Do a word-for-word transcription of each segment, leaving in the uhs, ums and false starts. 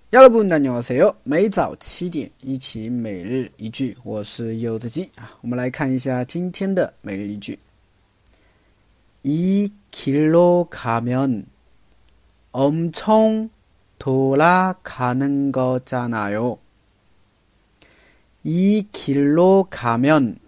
여러분 안녕하세요，每早七点一起每日一句，我是柚子鸡啊。我们来看一下今天的每日一句。이 길로 가면 엄청 돌아가는 거잖아요. 이 길로 가면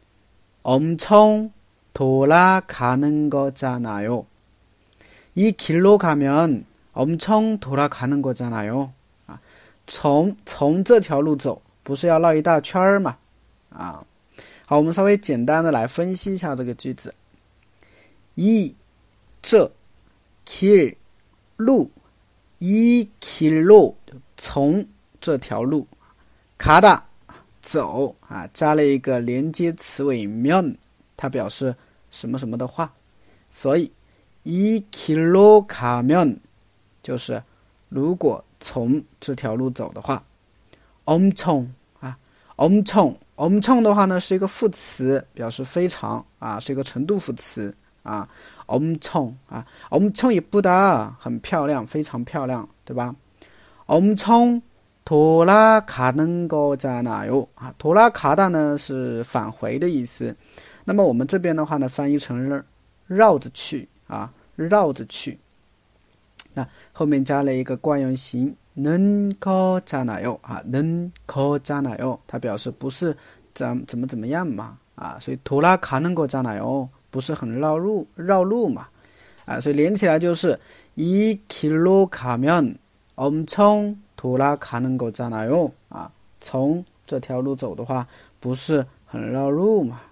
엄청 돌아가는 거잖아요. 이 길로 가면 엄청 돌아가는 거잖아요. 从从这条路走，不是要绕一大圈吗？啊，好，我们稍微简单的来分析一下这个句子。이这길路이 길로从这条路가다走啊，加了一个连接词尾면，它表示什么什么的话，所以이 길로 가면就是如果从这条路走的话，엄청啊，엄청 엄청的话呢是一个副词，表示非常啊，是一个程度副词啊，엄청啊，엄청 예쁘다，很漂亮，非常漂亮，对吧？엄청 돌아가는 거잖아요啊，돌아가다呢是返回的意思，那么我们这边的话呢翻译成绕着去啊，绕着去。那后面加了一个惯用型는 거잖아요啊，는 거잖아요，它表示不是怎怎么怎么样嘛啊，所以돌아가는 거잖아요，不是很绕路绕路嘛啊，所以连起来就是이 길로 가면 엄청 돌아가는 거잖아요啊，从这条路走的话，不是很绕路嘛。